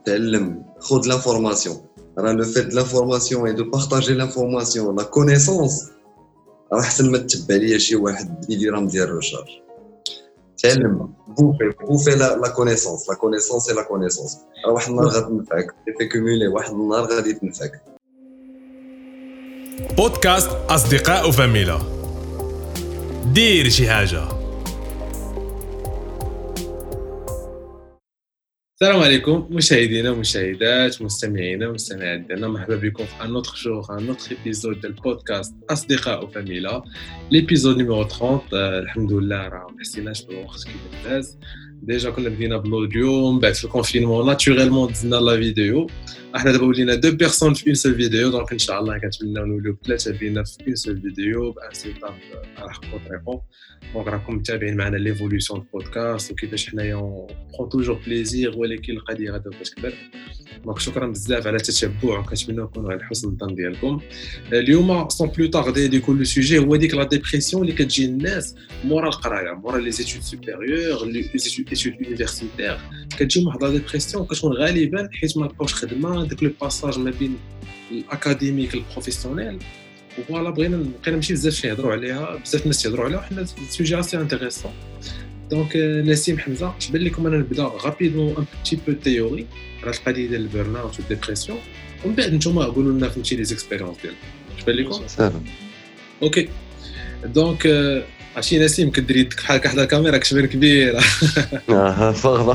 تعلم خذ l'information راه le fait de l'information et de partager l'information la connaissance راه احسن ما تتبع ليا شي واحد اللي راه مدير ريشيرش تعلم بوفي لا كونيسونس اي لا كونيسونس راه واحد النهار غتنفعك في كومولي واحد النهار غادي تنفعك. بودكاست اصدقاء وفاميلا دير شي حاجه. السلام عليكم مشاهدينا ومشاهدات مستمعينا ومستمعات ديالنا، مرحبا بكم في ان اوتر جور ان اوتر ايبيزود ديال البودكاست اصدقاء وفاميلا ليبيزود نيميرو 30. الحمد لله راه ما حسيناش بالوقت كيف داز. ديجا كنا بدينا بالاوديو، من بعد في الكونفينمون ناتوريلمون دزنا لا فيديو. احنا دابا ولينا دو بيرسون في اون سول فيديو، دونك ان شاء الله كنتمناو نوليو ثلاثه بينا في اون سول فيديو بان سيتاب على حق طريقو. دونك راكم متابعين معنا ليفولوسيون دو بودكاست وكيفاش حنايا برون توجور بليزير، ولكن القضيه غادا تكبر. دونك شكرا بزاف على التتبع وكنتمناو نكونوا على حسن الظن ديالكم. اليوم سون بلو طاردي ديكو لو سوجي هو ديك لا ديبرسيون اللي كتجي الناس مورا القرايه، مورا لي زيتود سوبيريور لي زيتود يونيفرسيتير. كتجي واحد لا ديبرسيون كتكون غالبا حيت ما لقاوش خدمه، داك لو باساج ما بين الاكاديميك البروفيسيونيل. وفوالا بغينا نمشي بزاف يهضروا عليها، بزاف الناس يهضروا عليها، وحنا سوجي اسي انتريسون. دونك نسيم حمزه، اش بان لكم انا نبدا غابيدمون ان بتي بو تيوري على القضيه ديال البيرن اوت والديبرسيون، ومن بعد نتوما قولوا لنا فهمتي لي زيكسبيريونس ديالكم. اش بان لكم؟ سلام. اوكي دونك عرفتي نسيم كديري يدك بحال كحدا الكاميرا كتبان كبيره. فغضه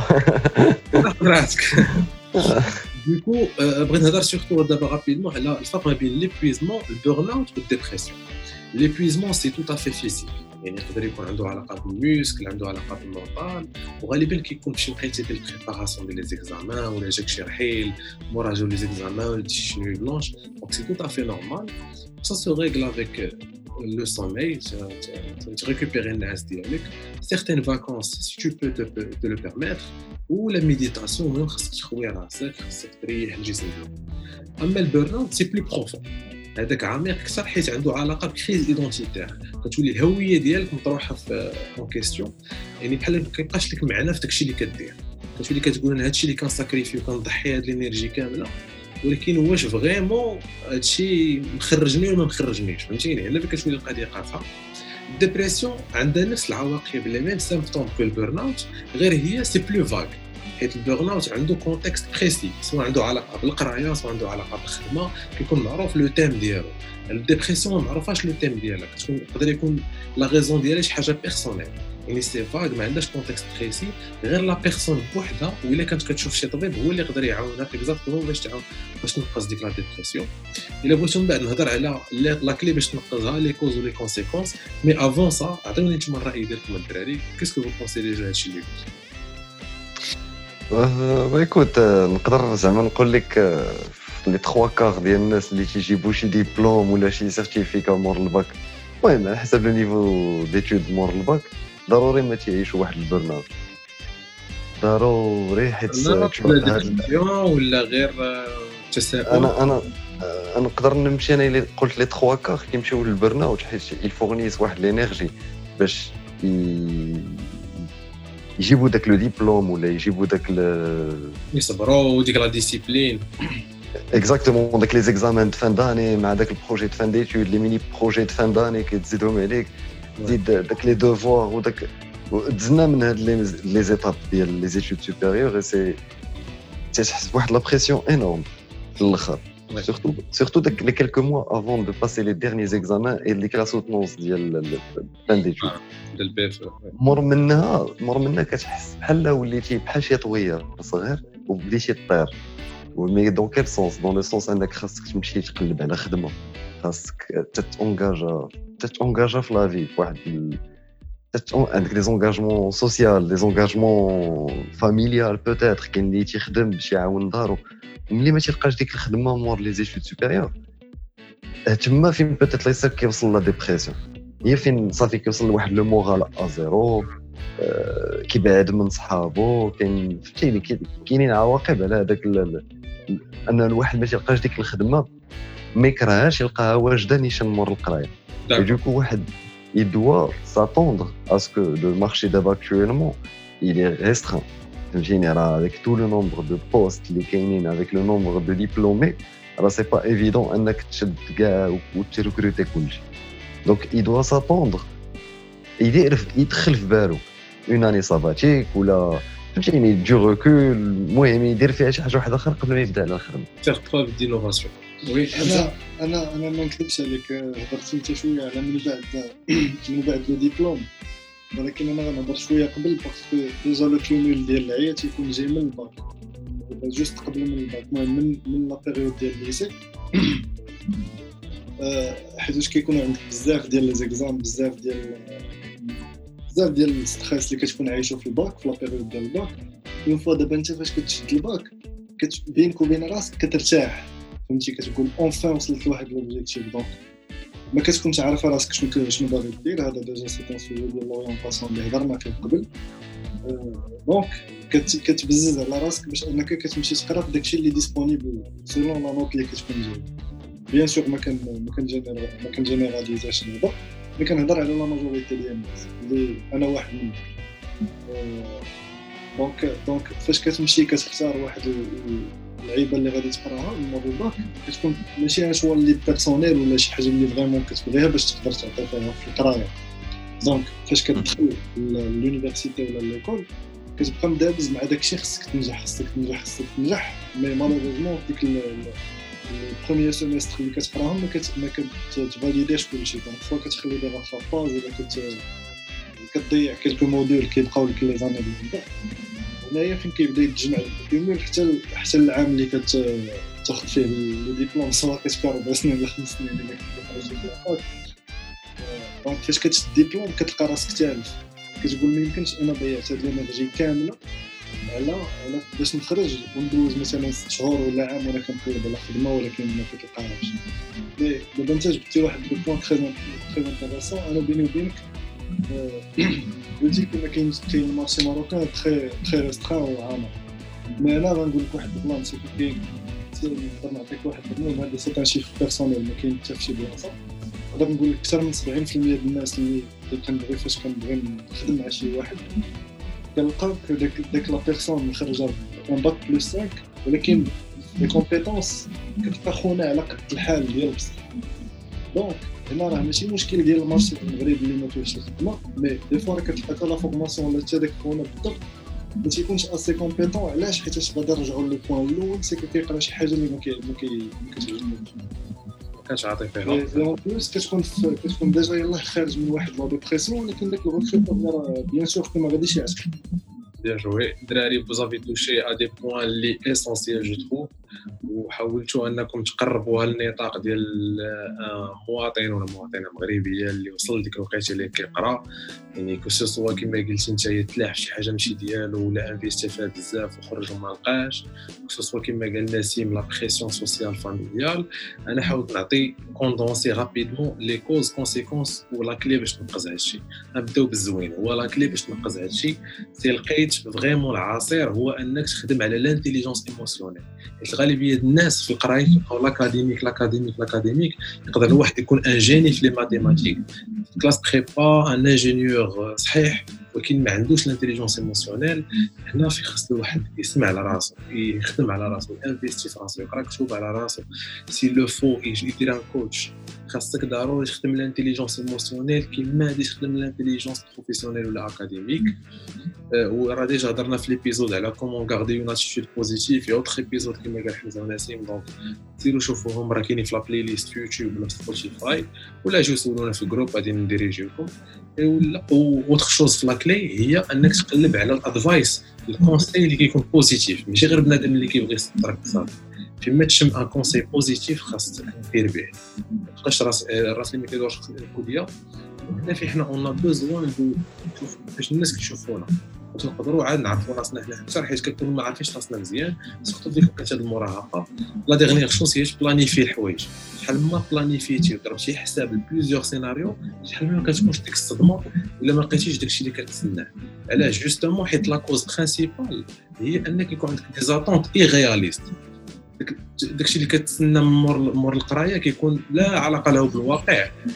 راحتك. ديكو بغيت نهضر سورتو دابا رابيدمون على الفرق ما بين ليبويزمون البيرن اوت والديبرسيون. ليبويزمون سي تو افي فيزيك، يعني يقدر يكون عنده علاقه بالميوسكل، عنده علاقه بالمنطال، وغالبا كيكون شي وقيته ديال البريباراسيون ديال لي زيكزامان ولا جاك شي رحيل مورا جاو لي زيكزامان ولا شي نوي بلونش. دونك سي تو افي نورمال. Ça se règle avec le sommeil, tu récupères une nasse dialogue, certaines vacances si tu peux te le permettre, ou la méditation, même si tu trouves à c'est très الجسم. أما البرن c'est plus profond. هذاك عميق أكثر حيت عنده علاقة بكريز إيدونتيتير، كتولي الهوية ديالك مطروحة في كيستيون، يعني بحال ما كيبقاش لك معنى في داكشي اللي كدير، كتولي كتقول أنا هادشي اللي كنساكريفي وكنضحي هاد الانرجي كاملة، ولكن واش فريمون هادشي مخرجني ولا ما مخرجنيش، فهمتيني؟ الا كتولي القضيه قاطعه. الديبرسيون عندها نفس العواقب لي ميم سيمبتوم كو البيرن اوت، غير هي سي بلو فاغ، حيت البيرن اوت عنده كونتكست بريسي، سواء عنده علاقه بالقرايه سواء عنده علاقه بالخدمه، كيكون معروف لو تيم ديالو. الديبرسيون ما معروفاش لو تيم ديالها، كتكون يقدر يكون لا ريزون ديالها شي حاجه بيرسونيل، يعني سي فاغ ما عندهاش كونتكست بريسي، غير لا بيرسون بوحدها وإلا كانت كتشوف شي طبيب هو اللي يقدر يعاونها اكزاكتومون باش تنقص ديك لا ديبرسيون. الا بغيتو من بعد نهضر على لا كلي باش تنقصها، لي كوز ولي كونسيكونس، مي افون سا عطيوني نتوما الراي ديالكم الدراري، كيسكو فو بونسي ديجا هادشي اللي قلت؟ ايكوت نقدر زعما نقول لك لي 3 كار ديال الناس اللي تيجيبوا شي ديبلوم ولا شي سيرتيفيكا مور الباك، المهم على حسب لو نيفو ديتود مور الباك، ضروري ما تعيشوا واحد البيرن اوت، ضروري حيت تشوف هاد ولا غير تساؤل. انا نقدر نمشي انا اللي قلت لي 3 كار كيمشيو للبيرن اوت حيت يفورنيس واحد لينيرجي باش يجيبوا داك لو ديبلوم ولا يجيبوا داك يصبروا ديك لا ديسيبلين اكزاكتومون داك لي زيكزامان د فان داني مع داك البروجي د فان ديتود لي ميني بروجي د فان داني كتزيدهم عليك، زيد داك لي دوفوار وداك دزنا من هاد لي زيتاب ديال لي زيتود سوبيريور، سي تحس بواحد لا بريسيون انورم في الاخر، surtout داك لي كيلكو موا افون دو باسي لي ديرني زيكزامان اي لي كلا سوتونس ديال فان ديتود ديال البيف. مور منها كتحس بحال وليتي بحال شي طوير صغير وبديتي تطير. مي دون كيل سونس؟ دون لو سونس انك خاصك تمشي تقلب على خدمه، خاصك تتونجاجا في لا في واحد عندك لي زونجاجمون سوسيال، لي زونجاجمون فاميليال، بوتيتر كاين اللي تيخدم باش يعاون دارو، ملي ما تلقاش ديك الخدمه مور لي زيتود سوبيريور تما فين بوتيت ليسا كيوصل لا ديبرسيون، هي فين صافي كيوصل لواحد لو مورال ازيرو، كيبعد من صحابو، كاين فهمتيني كاينين عواقب على هذاك ان الواحد ما تلقاش ديك الخدمه ما يكرهاش يلقاها واجده نيشان مور القرايه. دوكو واحد il doit s'attendre à ce que le marché d'ab actuellement il est restreint. فهمتيني راه avec tout le nombre de postes اللي كاينين avec le nombre de diplômés راه c'est pas évident انك تشد كاع وتركروتي كلشي. دونك il doit s'attendre يدخل في بالو اون اني ساباتيك ولا فهمتيني دو ريكول، المهم يدير فيها شي حاجه واحده اخرى قبل ما يبدا على الخدمه. تيرتوا بالدينوفاسيون. وي انا ما نكذبش عليك، هضرت انت شويه على من بعد لو ديبلوم، ولكن انا غنهضر شويه قبل باسكو ديجا لو كيومول ديال العيا تيكون جاي من الباك، جوست قبل من الباك، من لا بيريود ديال الليسي. حيت كيكون عندك بزاف ديال لي زيكزام، بزاف ديال الستريس اللي كتكون عايشه في الباك في لا بيريود ديال الباك. اون فوا دابا انت فاش كتشد الباك بينك وبين راسك كترتاح، فهمتي، كتقول اونفان وصلت لواحد لوبجيكتيف. دونك ما كتكونش عارف راسك شنو باغي دير. هذا ديجا سي ان سوجي ديال لورينطاسيون اللي هضرنا فيه قبل. دونك كتبزز على راسك باش انك كتمشي تقرا في داكشي اللي ديسپونيبل سولون لا نوت اللي كتكون جايه. بيان سور ما كان جينيراليزاش هذا، ملي كنهضر على لا ماجوريتي ديال الناس اللي انا واحد منهم. دونك فاش كتمشي كتختار واحد اللعيبه اللي غادي تقراها من الموضوع كتكون ماشي ان شوا اللي بيرسونيل ولا شي حاجه اللي فريمون كتبغيها باش تقدر تعطي فيها في القرايه. دونك فاش كتدخل لونيفرسيتي ولا ليكول كتبقى مدابز مع داكشي، خصك تنجح. مي مالوغوزمون ديك البروميير سيمستر اللي كتقراهم ما كتفاليديش كلشي. دونك فوا كتخلي دي راتراباج ولا كتضيع كلكو موديول كيبقاو لك لي زاني اللي بعد. هنايا فين كيبدا يتجمع الكيميل حتى العام اللي كتاخذ فيه الدبلوم، سواء كتبقى 4 سنين ولا 5 سنين اللي كتبقى. دونك فاش كتشد الدبلوم كتلقى راسك تالف، كتقول ما يمكنش انا ضيعت هاد الانرجي كامله على باش نخرج وندوز مثلا 6 شهور ولا عام وانا كنطلب على خدمه ولكن ما كتلقاهاش. دابا انت جبتي واحد البوان تري انتريسون. انا بيني وبينك قلتي كما كاين المارشي ماروكان تري ريستران وعامر. مي انا غنقول لك واحد البلان سي كاين، نقدر نعطيك واحد البلان هذا سي ان شيف بيرسونيل ما كاين حتى في شي بلاصه. نقدر نقول لك اكثر من 70% ديال الناس اللي كنبغي فاش كنبغي نخدم مع شي واحد كنلقى داك لا بيرسون مخرجه اون باك بلس 5، ولكن لي كومبيتونس كتبقى خونا على قد الحال ديال بصح. دونك هنا راه ماشي مشكل ديال المارشي المغربي اللي ما فيهش الخدمه، مي دي فوا كتلقى لا فورماسيون ولا حتى داك خونا بالضبط ما تيكونش اسي كومبيتون. علاش؟ حيت غادي نرجعوا للبوان الاول، سي كيقرا شي حاجه اللي ما كتعجبوش، كاش عاطي فيها اون بلوس كتكون ديجا يلاه خارج من واحد لا ديبرسيون. ولكن داك الغوكسيون بيان سور ما غاديش يعطيك. Bien joué. Drari, vous avez touché à des points essentiels, je trouve. وحاولتوا انكم تقربوها للنطاق ديال المواطن ولا المواطنه المغربيه اللي وصل ديك الوقيته اللي كيقرا، يعني كو سوا كما قلتي انت يتلاح شي حاجه ماشي ديالو ولا انفيستي فيها بزاف وخرج وما لقاش، كو سوا كما قال نسيم لا بريسيون سوسيال فاميليال. انا حاولت نعطي كوندونسي رابيدمون لي كوز كونسيكونس ولا كلي باش تنقذ هادشي. نبداو بالزوين، هو لا كلي باش تنقذ هادشي سي لقيت فريمون العصير هو انك تخدم على لانتيليجونس ايموسيونيل. الغالبيه الناس في القرايه او لاكاديميك يقدر الواحد يكون ان جيني في لي ماتيماتيك كلاس بريبا ان انجينيور صحيح، ولكن ما عندوش الانتيليجونس ايموسيونيل. هنا في خاص الواحد يسمع على راسه، يخدم على راسه، انفيستي في راسه، يقرا كتب على راسه. سي لو فو يدير ان كوتش، خاصك ضروري تخدم الانتيليجونس ايموسيونيل كيما غادي تخدم الانتيليجونس بروفيسيونيل ولا اكاديميك. وراه ديجا هضرنا في ليبيزود على كومون غاردي اون اتيتود بوزيتيف، اوتر ايبيزود كما قال حمزه ونسيم. دونك سيروا شوفوهم، راه كاينين في لا بلاي ليست في يوتيوب ولا في سبوتيفاي، ولا جيو سولونا في الجروب غادي نديريجيوكم. ولا اوتر شوز في لا كلي هي انك تقلب على الادفايس، الكونساي اللي كيكون بوزيتيف، ماشي غير بنادم اللي كيبغي يصدرك صافي. فيما تشم ان كونساي بوزيتيف خاصك دير به، مابقاش راس اللي ما كيدورش الكوديه. هنا في حنا اون بوزوان نشوف باش الناس كيشوفونا ونقدروا عاد نعرفوا راسنا حنا اكثر، حيت كنكونوا ما عارفينش راسنا مزيان. سورتو في ديك الوقت ديال المراهقه لا ديغنيغ شوز هي بلانيفي الحوايج. شحال ما بلانيفيتي ودرتي حساب لبليزيور سيناريو، شحال ما كتكونش ديك الصدمه الا ما لقيتيش داكشي اللي كتسناه. علاش؟ جوستومون حيت لا كوز برينسيبال هي انك يكون عندك دي زاتونت اي رياليست. داكشي اللي كتسنى من مور القرايه كيكون لا علاقه له بالواقع.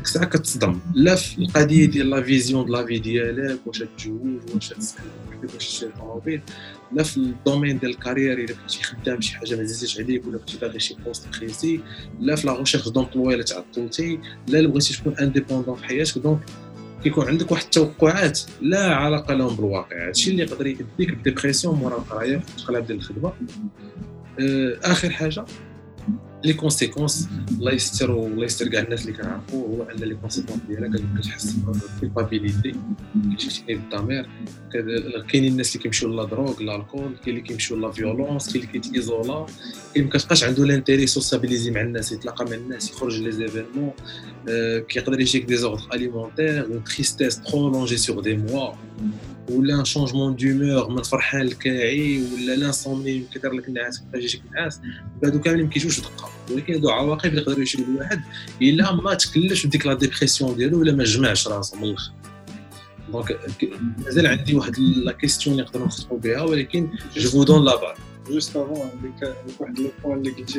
ديك الساعه كتصدم لا في القضيه ديال لا فيزيون د لا في ديالك، واش تتزوج واش تسكن واش تشري طوموبيل، لا في الدومين ديال الكارير الا كنتي خدام شي حاجه ما عزيزاش عليك ولا كنتي باغي شي بوست بريسي، لا في لا ريشيرش دومبلوا الا تعطلتي، لا بغيتي تكون انديبوندون في حياتك. دونك كيكون عندك واحد التوقعات لا علاقه لهم بالواقع. هادشي اللي يقدر يديك بديبرسيون مورا القرايه في القلب ديال الخدمه. اخر حاجه لي كونسيكونس، الله يستر والله يستر كاع الناس اللي كنعرفوا، هو ان لي كونسيكونس ديالها كتحس بالكولبابيليتي، كتشتي بالضمير. كاينين الناس اللي كيمشيو لا دروغ لا الكول، كاين اللي كيمشيو لا فيولونس، كاين اللي كيتيزولا، كاين ما كتبقاش عنده لانتيري سوسابيليزي مع الناس، يتلاقى مع الناس، يخرج لي زيفينمون، كيقدر يجيك دي زوردر اليمونتير و تريستيس برولونجي سور دي موا، ولا ان شونجمون دومور من فرحان لكاعي، ولا لانسومني كيدير لك النعاس بقى يجيك النعاس. هادو كاملين ما كيجوش دقه، ولكن هادو عواقب اللي يقدروا يجيو لواحد الا ما تكلش بديك لا ديبرسيون ديالو ولا ما جمعش راسو من الاخر. دونك مازال عندي واحد لا كيستيون اللي نقدروا نخطبوا بها، ولكن جو فو دون لا بال جوست افون عندك واحد لو بوين اللي قلتيه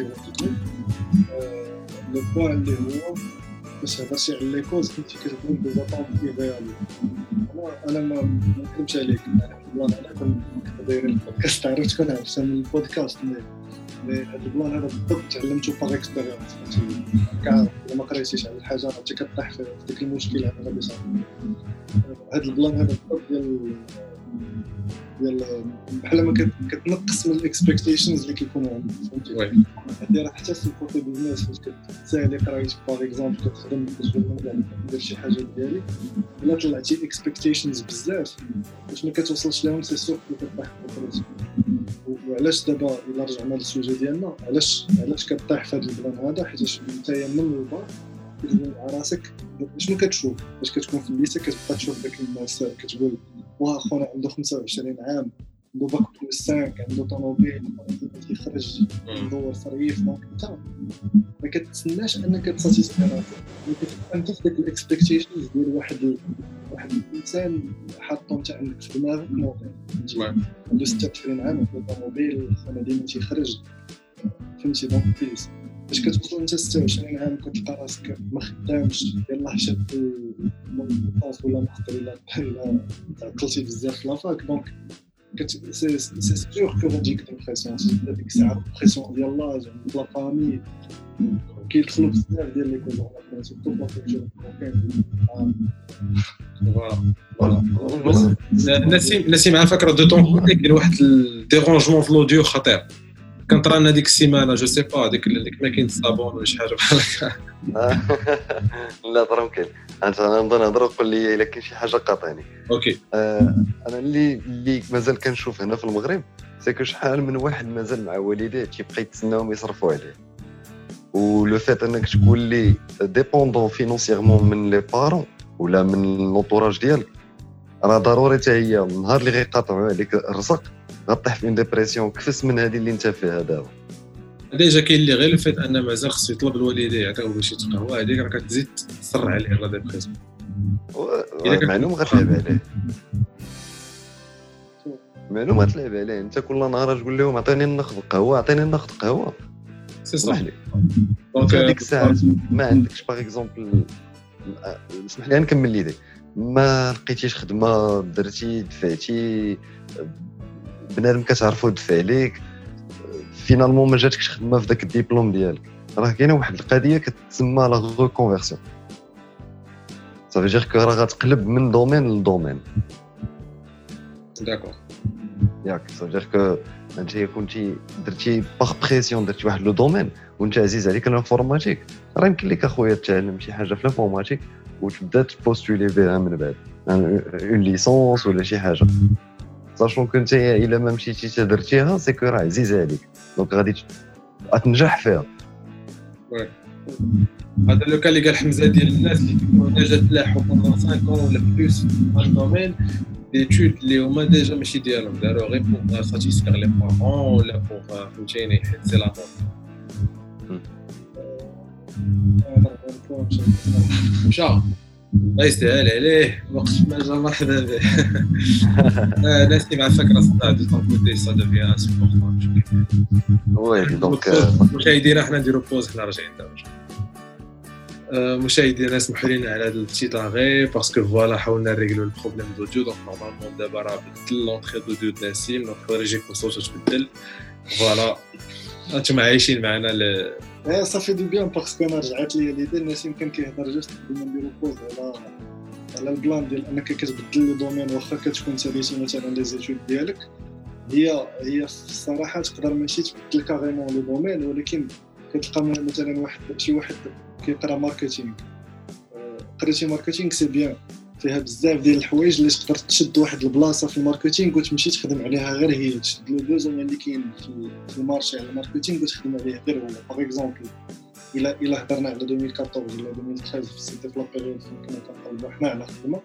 لو بوين اللي هو باش هضرتي على لي كوز كنتي كتقول دي زاتونت ايديال. انا ما نكذبش عليك، انا كنت داير البودكاست، تعرفت تكون عرفتها من البودكاست، مي هذا البلان هذا بالضبط تعلمته باغ اكسبيريونس. كاع ما قريتيش على الحاجه انت كطيح في ديك المشكل هذا غادي يصير. هذا البلان هذا بالضبط ديال بحال ما كتنقص من الاكسبكتيشنز اللي كيكونوا عندك، فهمتي؟ هادي راه حتى في الكوتي بيزنس فاش كتسالي قرايتك باغ اكزومبل كتخدم دير شي حاجه ديالي، الا طلعتي اكسبكتيشنز بزاف باش ما كتوصلش لهم سي سور كتطيح في. وعلاش دابا الا رجعنا للسوجي ديالنا، علاش كطيح في هذا البلان هذا؟ حيت انت من البار كتقول على راسك شنو كتشوف باش كتكون في الليسه، كتبقى تشوف داك الناس كتقول واه خونا عنده 25 عام، عنده باك بلس 5، عنده طوموبيل، كيخرج يدور صريف. دونك انت ما كتسناش انك تساتيسفي راسك، انت في ديك الاكسبكتيشنز ديال واحد الانسان حاطه انت عندك في دماغك موضوع عنده 26 عام، عنده طوموبيل، خونا ديما تيخرج، فهمتي؟ دونك بليز باش كتوصل انت 26 عام كتلقى راسك ما خدامش، يلاه شاد البونس ولا ماستر الا تعطلتي بزاف في لافاك. دونك سي سيغ كو غاديك ديبرسيون، ديك الساعه ديبرسيون ديال لاج ديال لا فامي، كيدخلوا بزاف ديال لي كوزون سورتو بروفيسيون. فوالا نسيم على فكره دو طون كوتي كاين واحد الديرونجمون في لوديو خطير. كنت رانا ديك السيمانه جو سي با ديك ماكينه الصابون ولا شي حاجه بحال هكا. لا ضرب كاين انا نظن نهضر قول لي الا كاين شي حاجه قاطعني. اوكي انا اللي مازال كنشوف هنا في المغرب سي شحال من واحد مازال مع والديه تيبقى يتسناهم يصرفوا عليه، ولو فيت انك تكون لي ديبوندون فينونسيرمون من لي بارون ولا من لونطوراج ديالك، راه ضروري حتى هي النهار اللي غيقاطعوا عليك الرزق غطيح في ديبرسيون كفس من هذه اللي انت فيها دابا. ديجا كاين اللي غير الفيت ان مازال خصو يطلب الوالدين يعطيوه شي قهوه، هذيك راه كتزيد تسرع عليه لا ديبرسيون. معلوم غتلعب عليه، معلوم غتلعب عليه. انت كل نهار تقول لهم عطيني ناخذ قهوه، عطيني ناخذ قهوه، سي صح لي. دونك هذيك الساعه ما عندكش باغ اكزومبل، اسمح لي نكمل لي ديك، ما لقيتيش خدمه درتي دفعتي بنادم كتعرفو دفع عليك، فينالمون ما جاتكش خدمه في داك الدبلوم ديالك، راه كاينه واحد القضيه كتسمى لا ريكونفيرسيون. صافي جير كو راه غتقلب من دومين لدومين. داكور ياك صافي جير كو انت كنتي درتي باغ بريسيون درتي واحد لو دومين وانت عزيز عليك الانفورماتيك، راه يمكن لك اخويا تعلم شي حاجه في الانفورماتيك وتبدا تبوستولي بها من بعد اون ليسونس ولا شي حاجه، ساشون كنت الا ما مشيتي تدرتيها سي كو راه عزيزه عليك، دونك غادي تنجح فيها. وي هذا لو كان اللي قال حمزه ديال الناس اللي كيكونوا ديجا تلاحوا بوندون 5 ولا بلوس في الدومين ديتود اللي هما ديجا ماشي ديالهم، داروا غير بوغ ساتيسفير لي بارون ولا بوغ فهمتيني حيت سي لا مشى الله يستاهل عليه وقت ما جا مرحبا به. ناسي مع فكره صداع دو طون كوتي سا دوفيان انسبورطون. وي دونك مشاهدينا حنا نديرو بوز، حنا راجعين دابا. مشاهدينا اسمحوا لنا على هذا التيتاغي باسكو فوالا حاولنا نريغلو البروبليم دوديو دونك نورمالمون دابا راه بدل لونطري دوديو د نسيم دونك يقدر يجيكم صوت تبدل فوالا انتم عايشين معنا صافي دو بيان باسكو انا رجعت لي ليدي نسيم كان كيهضر جوست بدينا نديرو بوز على البلان ديال انك كتبدل لو دومين واخا كتكون ساليتي مثلا لي زيتود ديالك هي في الصراحه تقدر ماشي تبدل كاريمون لو دومين ولكن كتلقى مثلا شي واحد كيقرا ماركتينغ قريتي ماركتينغ سي بيان فيها بزاف ديال الحوايج اللي تقدر تشد واحد البلاصه في الماركتينغ وتمشي تخدم عليها غير هي تشد لو بوزون اللي كاين في المارشي على الماركتينغ وتخدم عليه غير هو باغ اكزومبل الا هضرنا على 2014 ولا 2013 في سيتي في لابيريود فين كنا كنقلبوا حنا على خدمه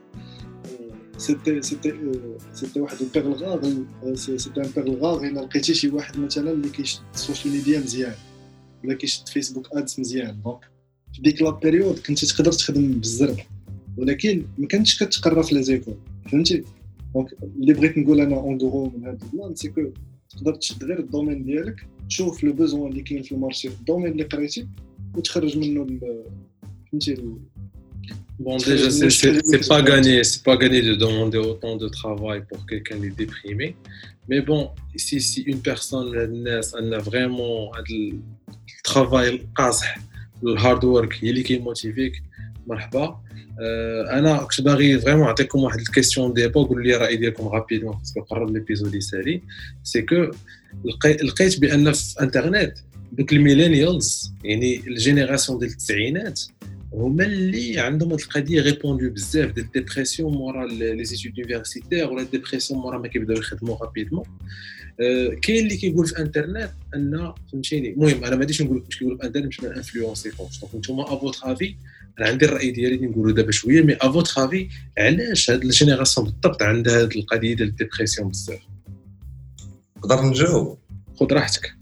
سيتي واحد البيغ سيتي ان بيغ غار الا لقيتي شي واحد مثلا اللي كيشد السوشيال ميديا مزيان ولا كيشد فيسبوك ادز مزيان دونك في ديك لا بيريود كنتي تقدر تخدم بالزرب ولكن ما كنتش كتقرا في لي زيكول فهمتي دونك اللي بغيت نقول انا اون غرو من هذا البلان سي كو تقدر تشد غير الدومين ديالك تشوف لو بوزوان اللي كاين في المارشي في الدومين اللي قريتي وتخرج منه فهمتي Bon, déjà, c'est pas gagné de demander autant de travail pour quelqu'un qui est déprimé. Mais bon, si une personne, elle a vraiment le travail, le hard work, il est motivé, مرحبا. أنا كنت باغي فريمون نعطيكم واحد الكيستيون ديبا وقول لي رأي ديالكم رابيدمون باسكو قرب ليبيزود يسالي سي كو لقيت بأن في انترنت دوك الميلينيالز يعني الجينيراسيون ديال التسعينات هما اللي عندهم هاد القضيه ريبوندو بزاف ديال الديبرسيون مورا لي زيتود يونيفرسيتير ولا ديبرسيون مورا ما كيبداو يخدموا رابيدمون كاين اللي كيقول في انترنت ان فهمتيني المهم انا ما غاديش نقول لكم واش كيقولوا في انترنت باش ما انفلونسيكمش دونك نتوما افوتر افي انا عندي الراي ديالي اللي نقولوا دابا شويه مي افوتر افي علاش هاد الجينيراسيون بالضبط عندها هاد القضيه ديال الديبرسيون بزاف نقدر نجاوب خذ راحتك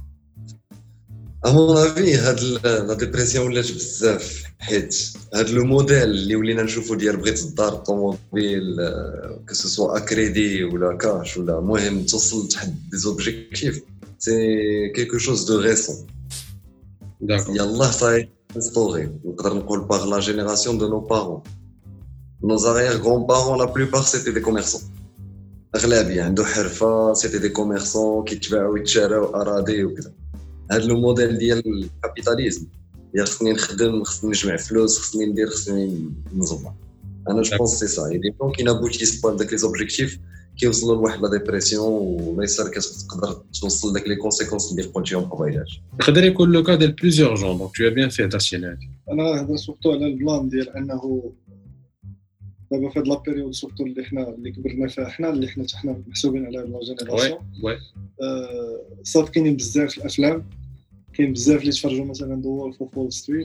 امون افي هاد لا ديبرسيون ولات بزاف حيت هاد لو موديل اللي ولينا نشوفو ديال بغيت الدار الطوموبيل كو سو اكريدي ولا كاش ولا المهم توصل تحد دي زوبجيكتيف سي كيلكو شوز دو ريسون داكور يلاه صاي انستوري نقدر نقول باغ لا جينيراسيون دو نو بارون nos arrière-grands-parents la plupart c'était des commerçants اغلبيه عنده حرفه سيتي دي كوميرسون كيتباعوا ويتشراو اراضي وكذا هذا لو موديل ديال الكابيتاليزم ديال خصني نخدم خصني نجمع فلوس خصني ندير خصني نزمر انا جو بونس سي سا اي دي دونك كينابوتيس با داك لي زوبجيكتيف كيوصلوا لواحد لا ديبرسيون وما يصير كتقدر توصل داك لي كونسيكونس اللي قلتيهم قبيله يقدر يكون لو كا ديال بليزيور جون دونك تو بيان في هادشي هذا انا غنهضر سورتو على البلان ديال انه دابا في هاد لا بيريود سورتو اللي كبرنا فيها حنا اللي حنا محسوبين على لا جينيراسيون صافي كاينين بزاف الافلام كاين بزاف اللي تفرجوا مثلا دو وولف اوف وول ستريت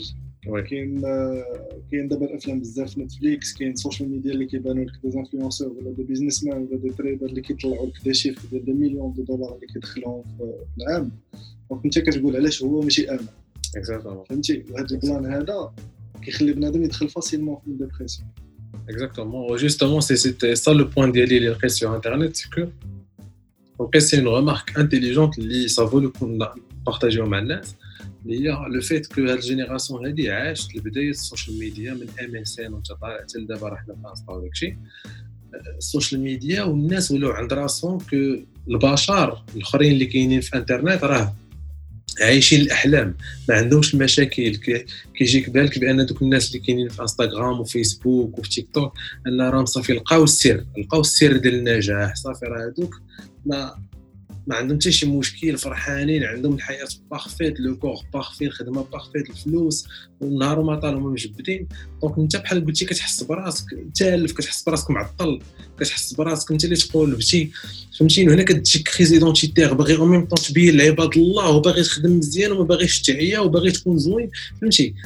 كاين دابا الافلام بزاف في نتفليكس كاين السوشيال ميديا اللي كيبانوا لك دي انفلونسور ولا دي بيزنس مان ولا دي تريدر اللي كيطلعوا لك دي شيف ديال 2 مليون دولار اللي كيدخلوهم في العام دونك انت كتقول علاش هو ماشي امن اكزاكتومون فهمتي وهذا البلان هذا كيخلي بنادم يدخل فاسيلمون في الديبرسيون Exactement. Justement, c'était ça le point d'y aller sur Internet, c'est que okay, c'est une remarque intelligente, ça vaut le coup de partager au manette. Le fait que la génération a dit le بداية السوشيال ميديا من MSN وتطلع حتى دابا راه حنا في انستا وداكشي السوشيال ميديا والناس ولاو عند راسهم كو البشر الاخرين اللي كاينين في انترنت راه عايشين الاحلام ما عندهمش المشاكل كيجيك بالك بان دوك الناس اللي كاينين في انستغرام وفيسبوك وفي تيك توك ان راهم صافي لقاو السر ديال النجاح صافي راه هذوك ما عندهم حتى شي مشكل فرحانين عندهم الحياه بارفيت لو كور بارفيت الخدمه بارفيت الفلوس والنهار ما طالهم مجبدين دونك انت بحال قلتي كتحس براسك تالف كتحس براسك معطل كتحس براسك انت اللي تقول بشي فهمتيني هنا كتجيك كريز ايدونتيتير باغي او ميم طون تبين لعباد الله وباغي تخدم مزيان وما باغيش تعيا وباغي تكون زوين فهمتي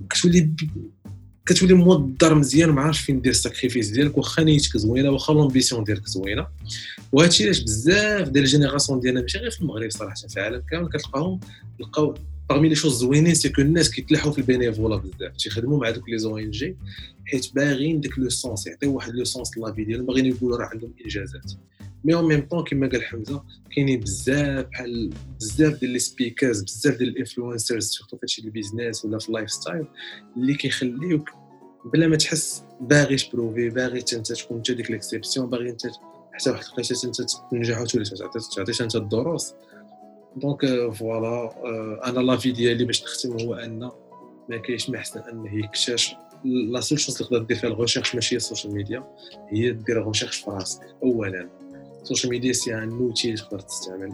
كتولي موضر مزيان ما عارف فين دير الساكريفيس ديالك واخا نيتك زوينه واخا لامبيسيون ديالك زوينه وهادشي علاش بزاف ديال الجينيراسيون ديالنا ماشي غير في المغرب صراحه في العالم كامل كتلقاهم لقاو parmi les choses زوينين سي كو الناس كيتلاحوا في البينيفولا بزاف تيخدموا مع دوك لي زو ان جي حيت باغيين ديك لو سونس يعطيو واحد لو سونس لا في ديالهم باغيين يقولوا راه عندهم انجازات مي اون ميم طون كيما قال حمزه كاينين بزاف بحال بزاف ديال لي سبيكرز بزاف ديال الانفلونسرز سورتو فهادشي البيزنس ولا في اللايف ستايل اللي كيخليوك بلا ما تحس باغي تبروفي باغي انت تكون انت ديك ليكسيبسيون باغي انت حتى واحد الوقيته انت تنجح وتولي تعطي انت الدروس دونك فوالا انا لا في ديالي باش نختم هو ان ما كاينش ما احسن انه يكتشف لا سول شونس اللي تقدر دير فيها الريشيرش ماشي هي السوشيال ميديا هي دير الريشيرش في راسك اولا السوشيال ميديا سي ان اوتي تقدر تستعمل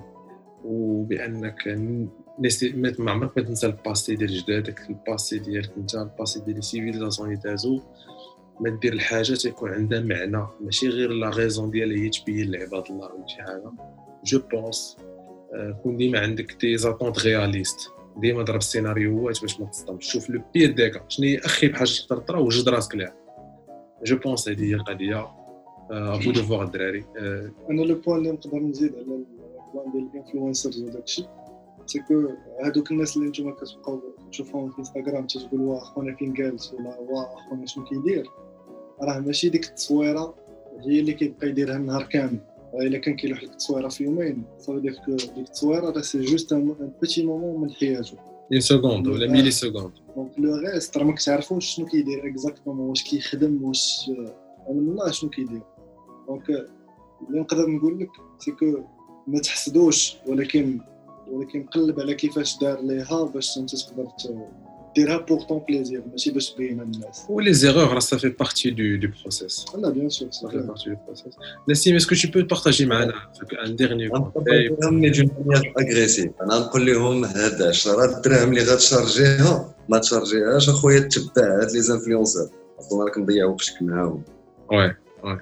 وبانك ما عمرك ما تنسى الباسي ديال جدادك الباسي ديالك انت الباسي ديال لي سيفيليزاسيون اللي دازو ما دير الحاجه تيكون عندها معنى ماشي غير لا ريزون ديالها هي تبين لعباد الله ولا شي حاجه جو بونس كون ديما عندك دي زاتونت رياليست ديما ضرب السيناريوهات باش ما تصدمش شوف لو بير داكا شنو هي اخي بحاجه تقدر تطرا وجد راسك ليها جو بونس هذه هي القضيه ابو ديفوار الدراري انا لو بوين اللي نقدر نزيد على البلان ديال الانفلونسرز وداكشي سي كو هادوك الناس اللي نتوما كتبقاو تشوفوهم في انستغرام تقولوا اخونا فين جالس ولا وا اخونا شنو كيدير راه ماشي ديك التصويره هي اللي كيبقى يديرها النهار كامل الا كان كيلوح لك التصويره في يومين صافي ديك التصويره راه سي جوست ان بيتي مومون من حياته 1 سكوند ولا ميلي سكوند دونك لو ريست راه ما كتعرفوش شنو كيدير اكزاكتومون واش كيخدم واش من الله شنو كيدير دونك اللي نقدر نقول لك سي كو ما تحسدوش ولكن قلب على كيفاش دار ليها باش انت تقدر ديرها بور طون بليزير ماشي باش تبينها للناس و لي زيرور ça fait partie du process لا بيان سور ça fait partie du process Nassim est-ce que tu peux partager معنا un dernier conseil من جمعيات اغريسيف انا نقول لهم هذا 10 دراهم اللي غتشارجيها ما تشارجيهاش اخويا تبع هاد لي انفلونسر اصلا راك مضيع وقتك معاهم وي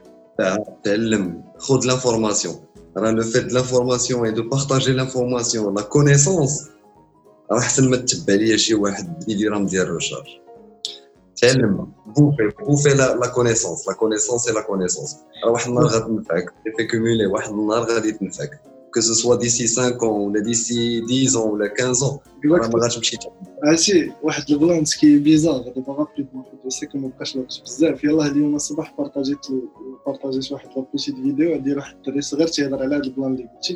تعلم خذ لافورماسيون راه لو فيت لافورماسيون اي دو بارطاجي لافورماسيون لا كونيسونس راه احسن ما تتبع ليا شي واحد مليغرام ديال الريشارج تعلم بوفي لا كونيسونس سي لا كونيسونس راه واحد النهار غتنفعك في كومولي واحد النهار غادي تنفعك كو سو سوا ديسي 5 ans ولا ديسي 10 ans ولا 15 ans راه ما غاتمشي عرفتي واحد البلان كي بيزار دابا غابيدمون سي كو مابقاش الوقت بزاف يلاه اليوم الصباح بارطاجيت واحد لابوسيت فيديو ديال واحد الدري صغير تيهضر على هذا البلان اللي قلتي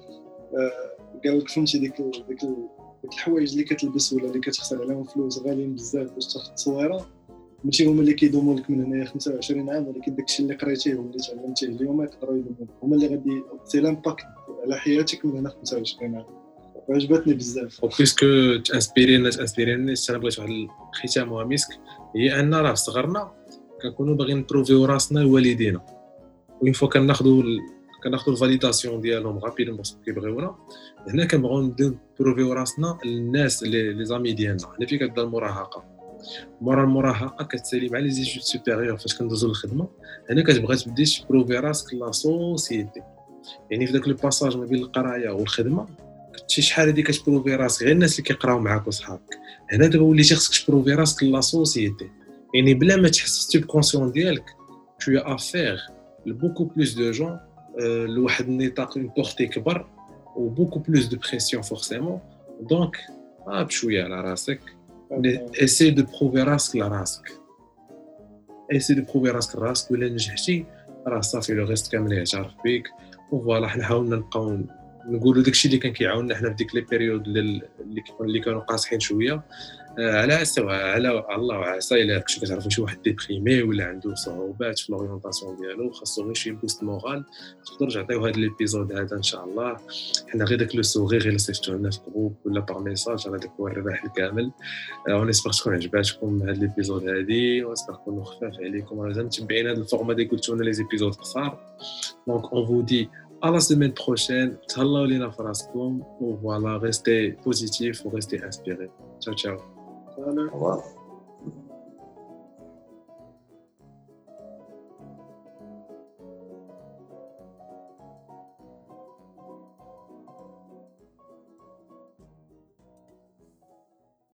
قال لك فهمتي ديك الحوايج اللي كتلبس ولا اللي كتخسر عليهم فلوس غاليين بزاف باش تاخذ تصويره ماشي هما اللي كيدوموا لك من هنايا 25 عام ولكن داكشي اللي قريتيه واللي تعلمتيه اليوم يقدروا يدوموا هما اللي غادي سي لامباكت على حياتك من هنا 25 عام وعجبتني بزاف وبيسكو تانسبيرينا انا بغيت واحد الختام مسك هي ان راه في صغرنا كنكونوا باغيين نبروفيو راسنا لوالدينا وين فوا كناخذوا الفاليداسيون ديالهم رابيدمون باسكو كيبغيونا هنا كنبغيو نبروفيو راسنا للناس لي زامي ديالنا هنا فين كتبدا المراهقه مورا المراهقه كتسالي مع لي زيتود سوبيريور فاش كندوزو للخدمه هنا كتبغي تبدي تبروفي راسك لا سوسيتي يعني في داك لو باساج ما بين القرايه والخدمه كنتي شحال هادي كتبروفي راسك غير الناس اللي كيقراو معاك وصحابك هنا دابا وليتي خصك تبروفي راسك لا سوسيتي يعني بلا ما تحس ستيب كونسيون ديالك tu as affaire beaucoup plus de gens لواحد النطاق اون بورتي كبر و beaucoup plus de pression forcément donc بشويه على راسك essaye de prouver راسك لراسك essaye de prouver راسك ولا نجحتي راه صافي لو ريست كامل يعترف بك وفوالا حنا حاولنا نبقاو نقولوا داكشي اللي كان كيعاوننا حنا في ديك لي بيريود اللي كانوا قاصحين شويه على الله وعسى الا كنتو كتعرفوا شي واحد ديبريمي ولا عنده صعوبات في لورينطاسيون ديالو خاصو غير شي بوست مورال تقدروا تعطيو هذا ليبيزود هذا ان شاء الله حنا غير داك لو سوغير الا صيفطوه لنا في جروب ولا باغ ميساج راه داك هو الربح الكامل اون اسبر تكون عجباتكم هاد ليبيزود هادي واسبر نكونوا خفاف عليكم راه لازم تبعين هاد الفورما اللي قلتو لنا لي زيبيزود قصار دونك اون فو دي à la semaine prochaine تهلاو لينا في راسكم و فوالا restez positif و restez inspiré ciao ciao Au revoir.